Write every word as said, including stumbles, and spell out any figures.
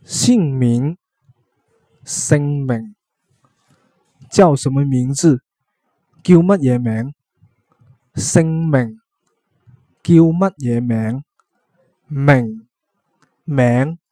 姓名，姓名，叫什麼名字？叫乜嘢名？姓名，叫乜嘢名？名，名。